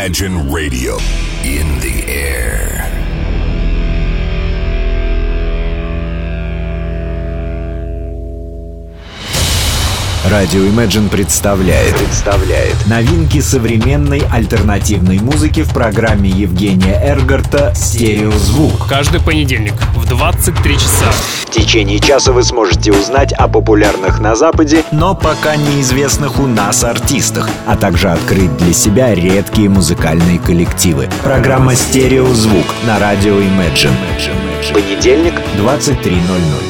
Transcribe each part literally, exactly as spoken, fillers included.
Imagine Radio in the air. Радио Imagine представляет, представляет новинки современной альтернативной музыки в программе Евгения Эргарта «Стереозвук». Каждый понедельник в двадцать три часа. В течение часа вы сможете узнать о популярных на Западе, но пока неизвестных у нас артистах, а также открыть для себя редкие музыкальные коллективы. Программа «Стереозвук» на радио Imagine. Понедельник, двадцать три ноль ноль.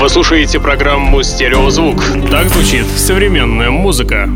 Вы слушаете программу «Стереозвук». Так звучит современная музыка.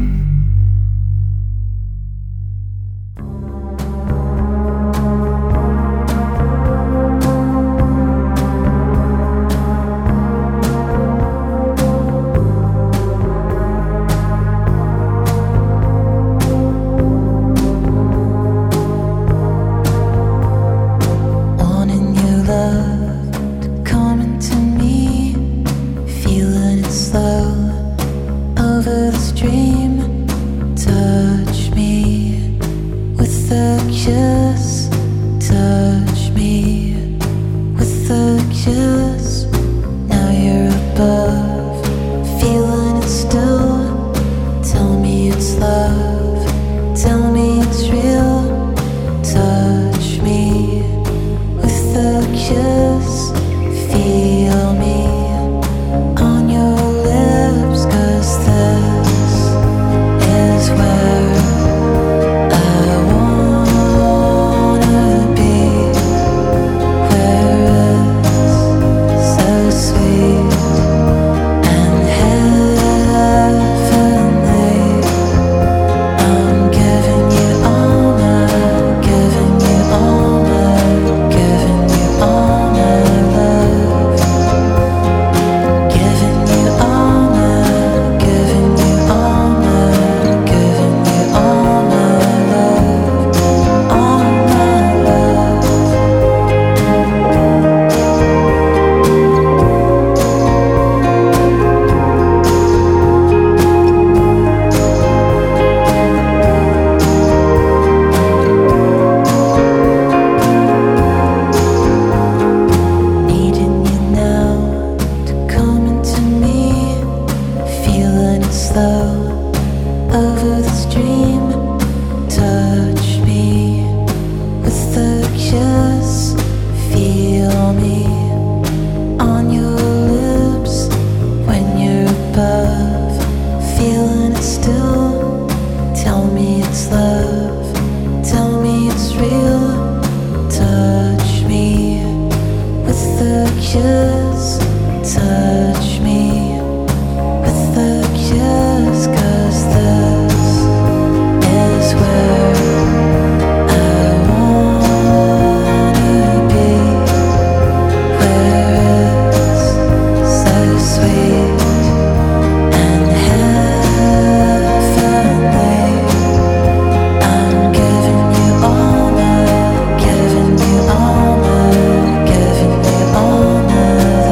Giving you all my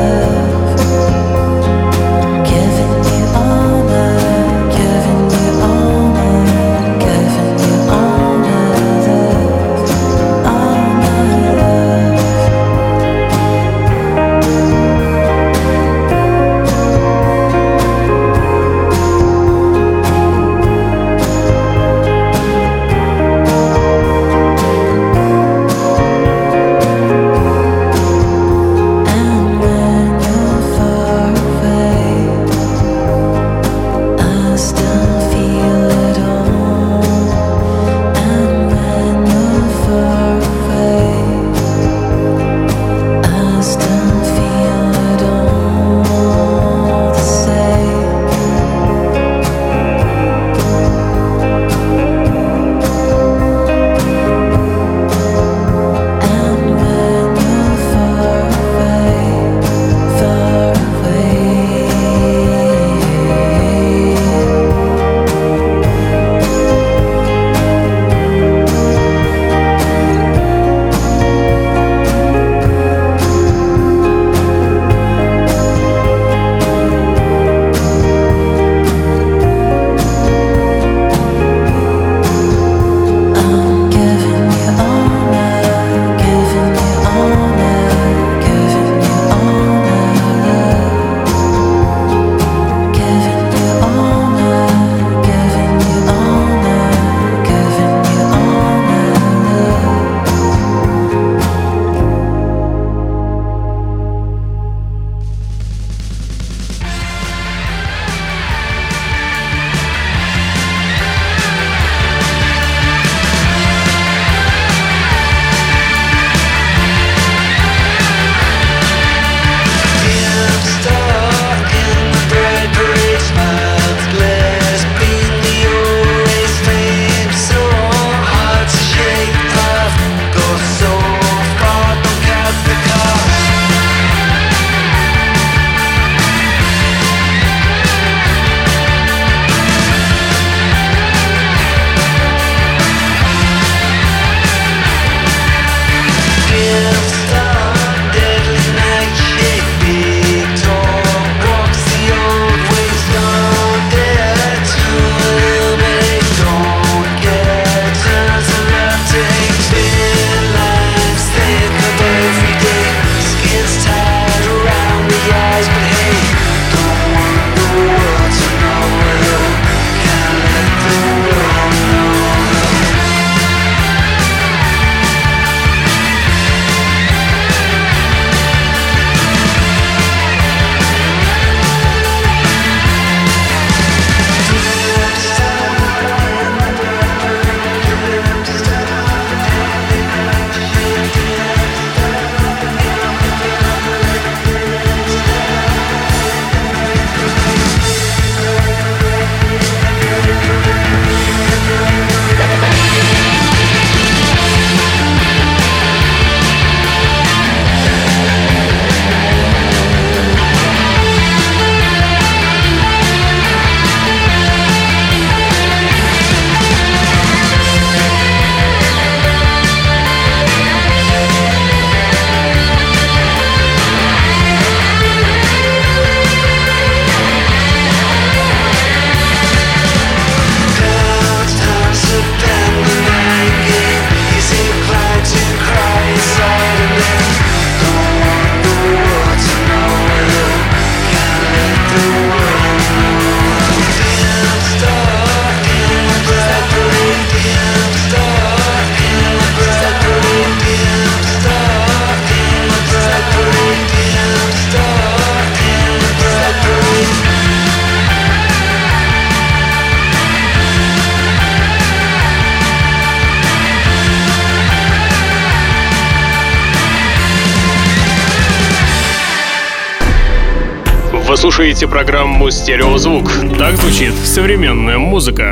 слушаете программу «Стереозвук». Так звучит современная музыка.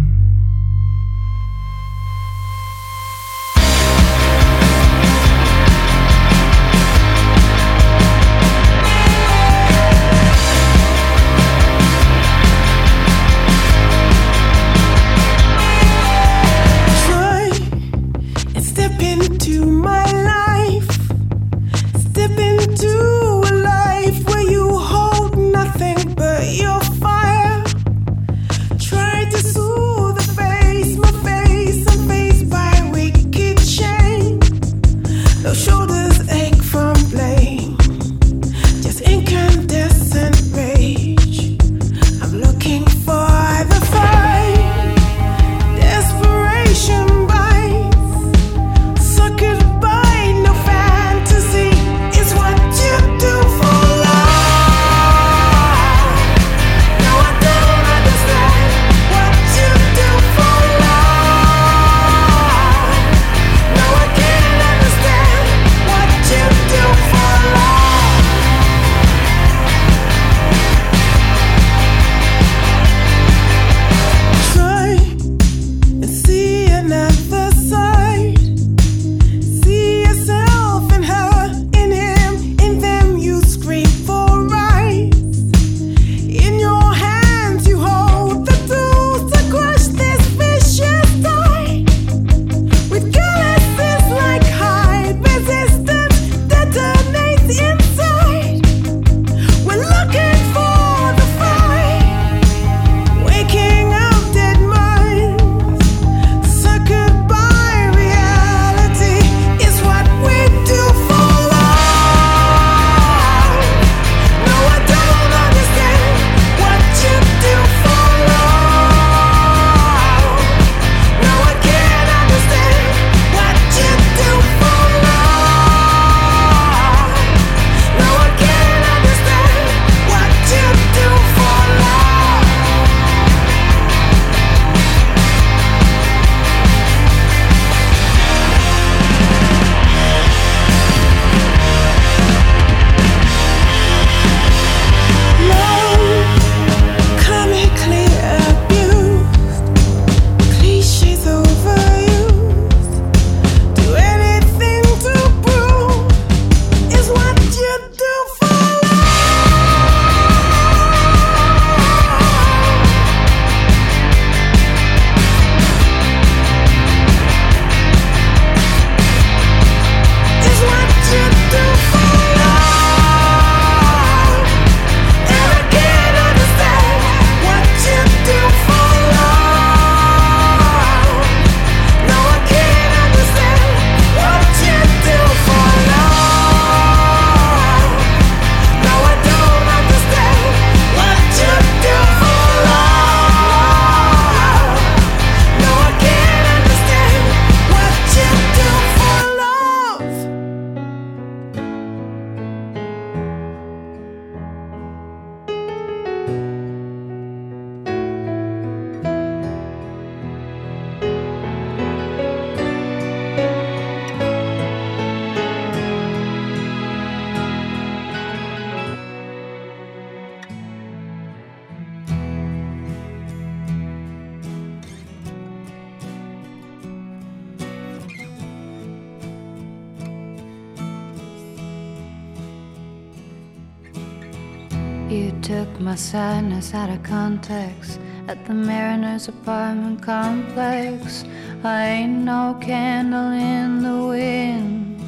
You took my sadness out of context at the Mariners apartment complex. I ain't no candle in the wind.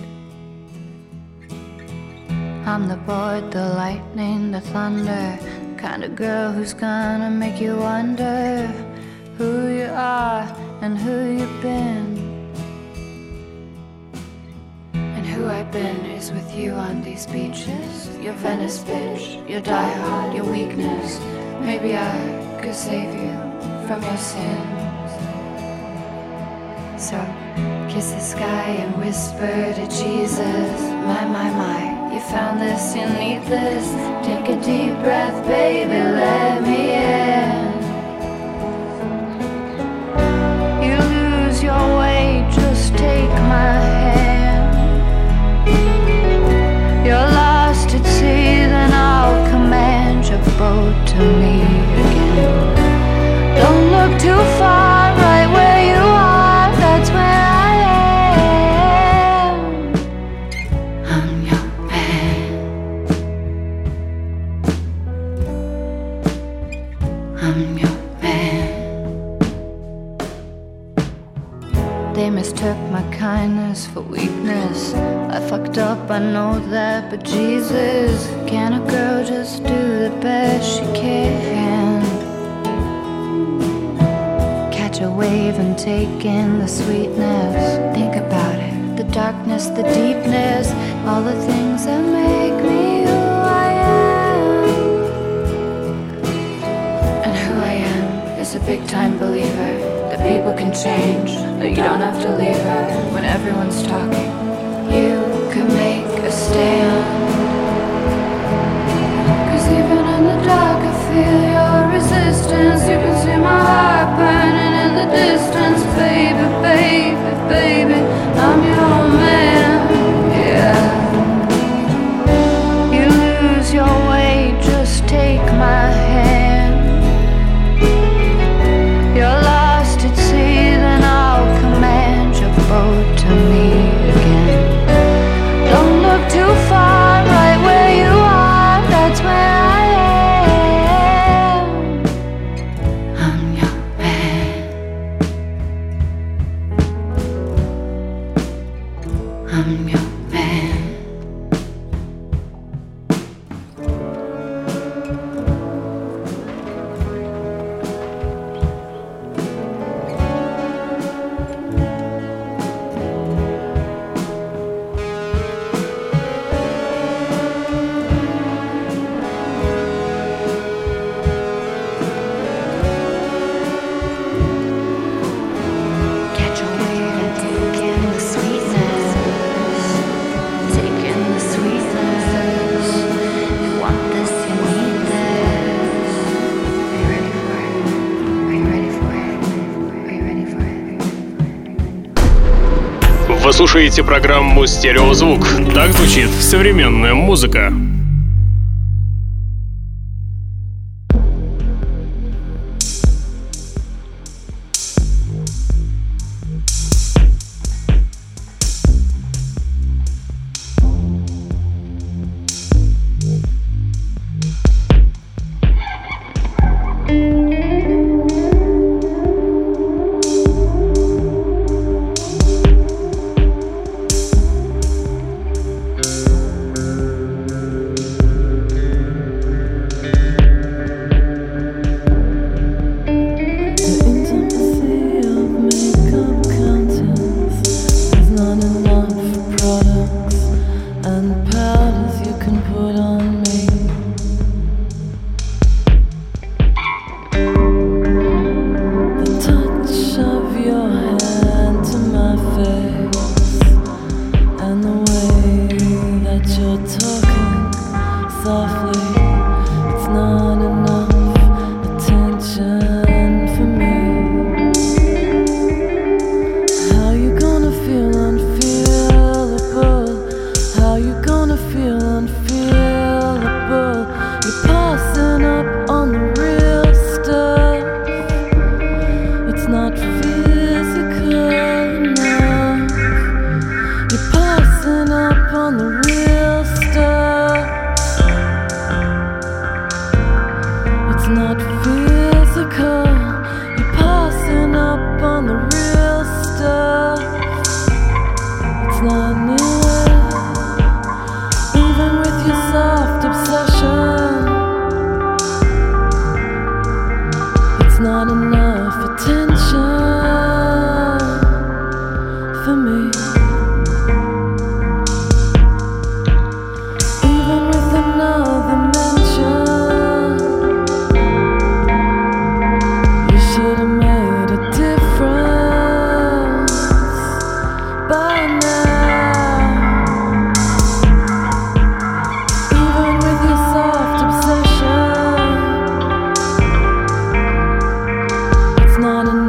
I'm the board, the lightning, the thunder, the kind of girl who's gonna make you wonder who you are and who you've been. And who I've been is with you on these beaches. Your Venice bitch, your diehard, your weakness. Maybe I could save you from your sins. So kiss the sky and whisper to Jesus. My, my, my, you found this, you need this. Take a deep breath, baby, let me in. You lose your way, just take my hand. You're lost at sea, then I'll command man. They mistook my kindness for weakness. I fucked up, I know that, but Jesus, can a girl just do the best she can? Catch a wave and take in the sweetness. Think about it, the darkness, the deepness, all the things that make me who I am. And who I am is a big time believer that people can change, that you don't have to leave her when everyone's talking. You could make a stand, 'cause even in the dark I feel your resistance. You can see my heart burning in the distance. Baby, baby, baby, I'm your man, yeah. You lose your way, just take my hand. You're lost at sea, then I'll command your boat to me again. Don't look too far, right where you are, that's where I am. I'm your man. I'm your man. Catch a wave and take in the sweetness. Take in the sweetness. You want this, you need this. Are you ready for it? Are you ready for it? Are you ready for it? Вы слушаете программу «Стереозвук». Так звучит современная музыка. Not enough.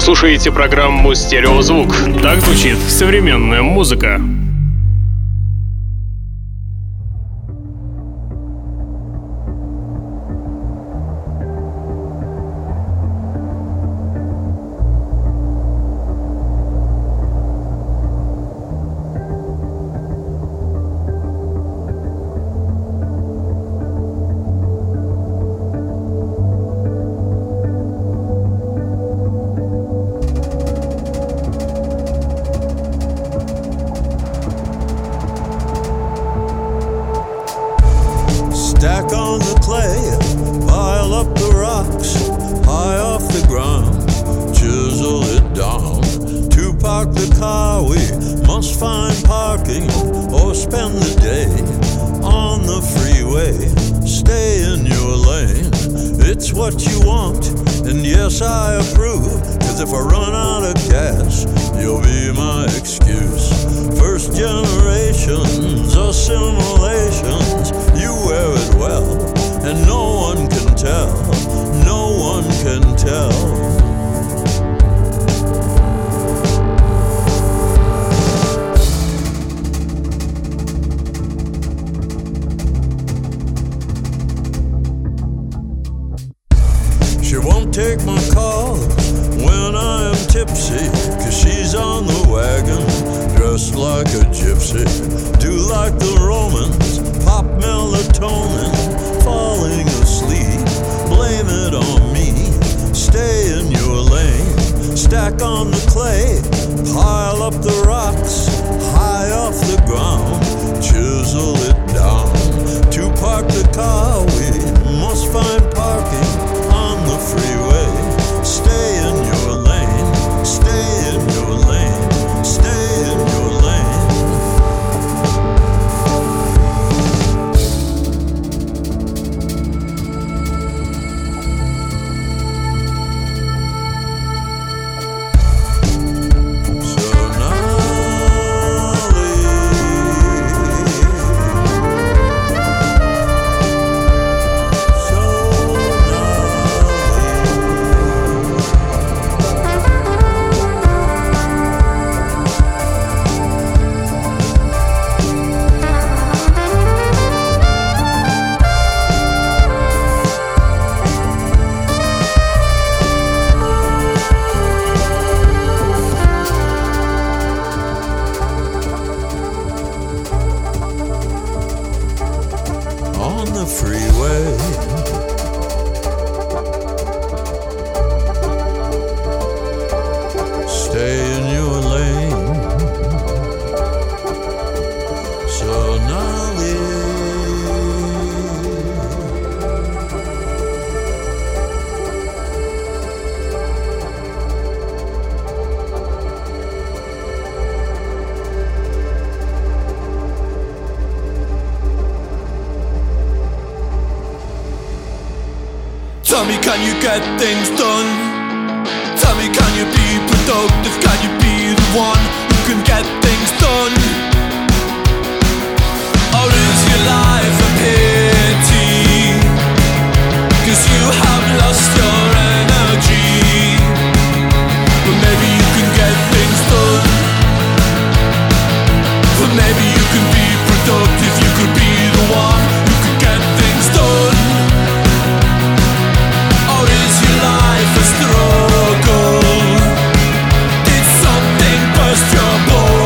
слушаете программу «Стереозвук». Так звучит современная музыка. Stack on the clay, pile up the rocks, high off the ground, chisel it down. To park the car we must find parking or spend the day on the freeway. Stay in your lane, it's what you want, and yes I approve, cause if I run out of gas, you'll be my excuse. First generations assimilations, you wear it well, and no one can tell, no one can tell. She won't take my call when I am tipsy, cause she's on the wagon, dressed like a gypsy. Do like the Romans, pop melatonin, falling asleep, blame it on me. Stay in your lane, stack on the clay, pile up the rocks, high off the ground, chisel it down. To park the car we must find parking on the freeway. Stay in your lane, stay in your lane, stay in your lane. Tell me, can you get things done? Tell me, can you be productive? Can you be the one who can get things done? Or is your life a pity? Cause you have lost your energy. But maybe you can get things done. But maybe you can be productive. You could be the one who could get things done. Life a struggle. Did something burst your bone?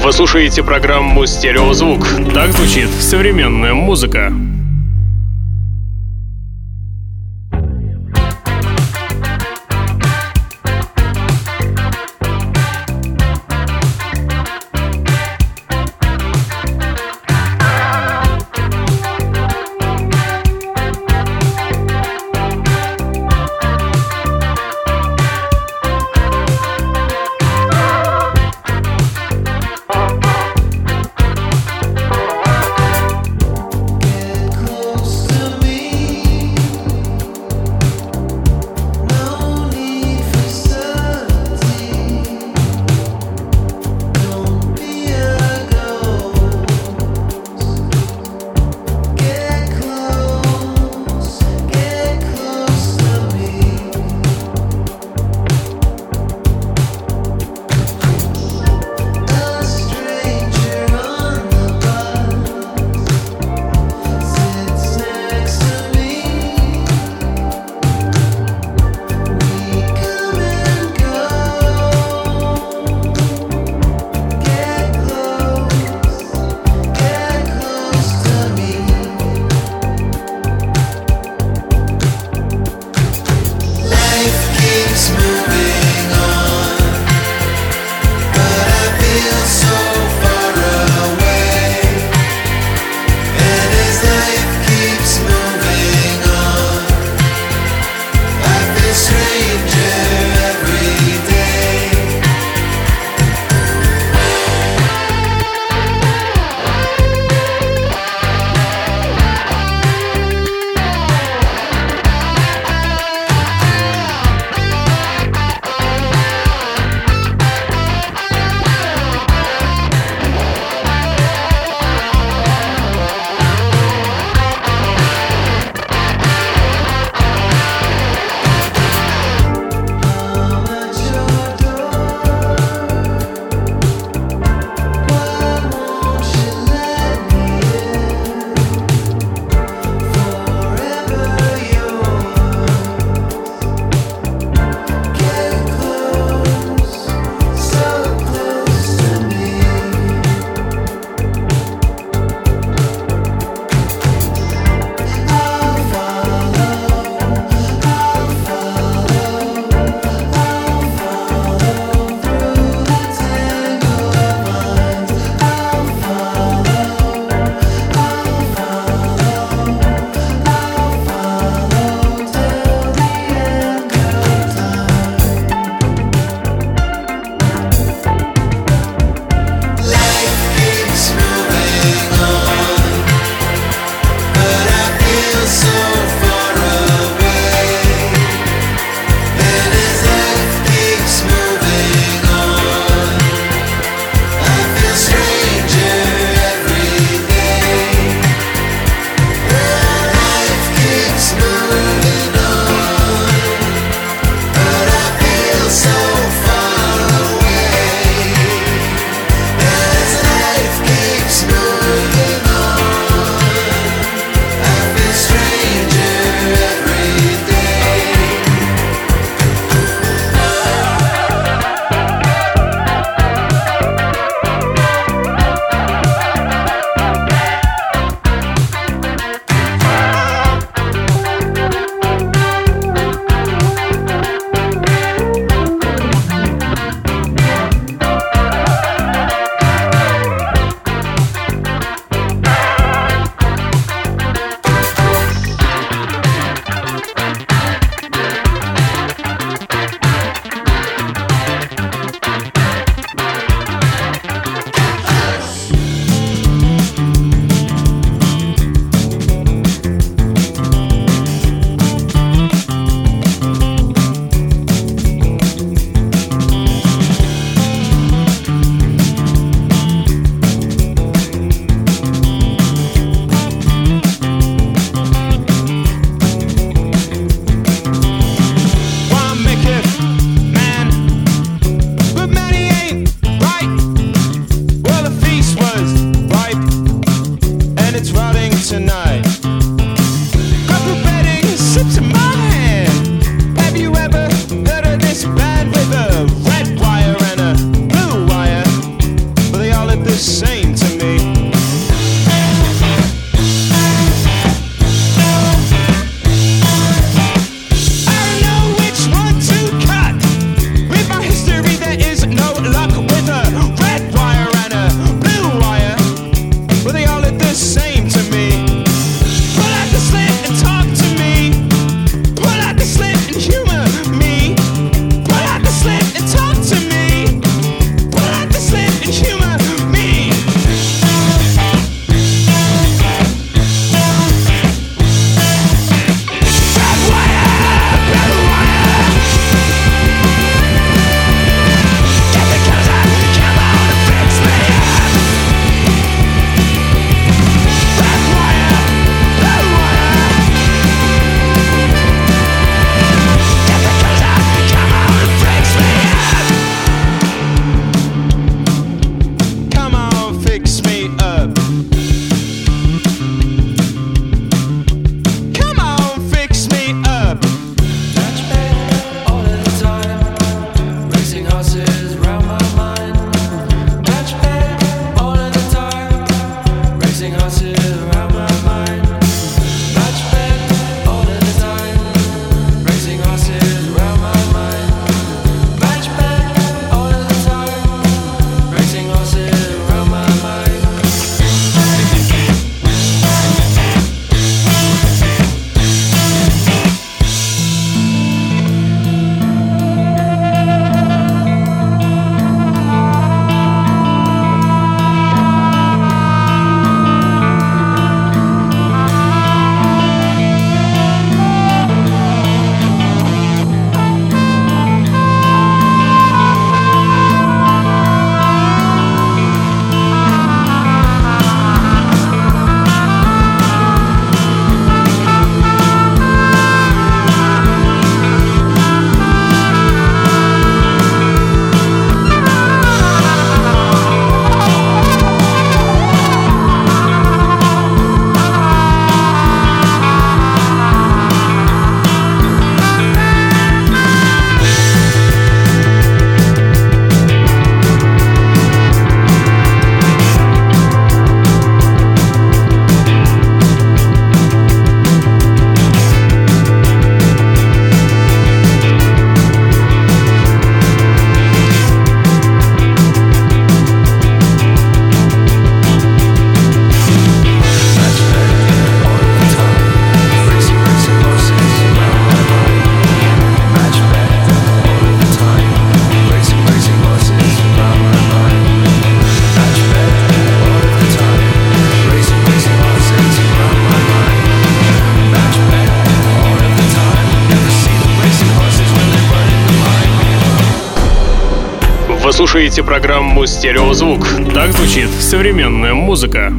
Вы слушаете программу «Стереозвук». Так звучит современная музыка. Вы слушаете программу «Стереозвук». Так звучит современная музыка.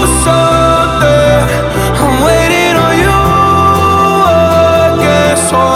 So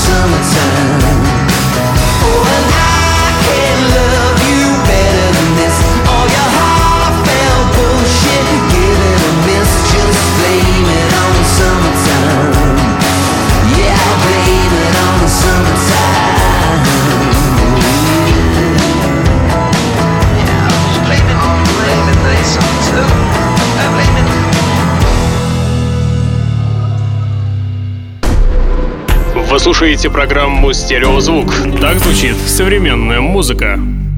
summertime. Oh, and I can't love you better than this. All your heartfelt bullshit, give it a miss. Just blame it on the summertime. Yeah, I'll blame it on the summertime. Yeah, I'll just blame it on the blame it, they summertime. I blame it. Вы слушаете программу «Стереозвук». Так звучит современная музыка.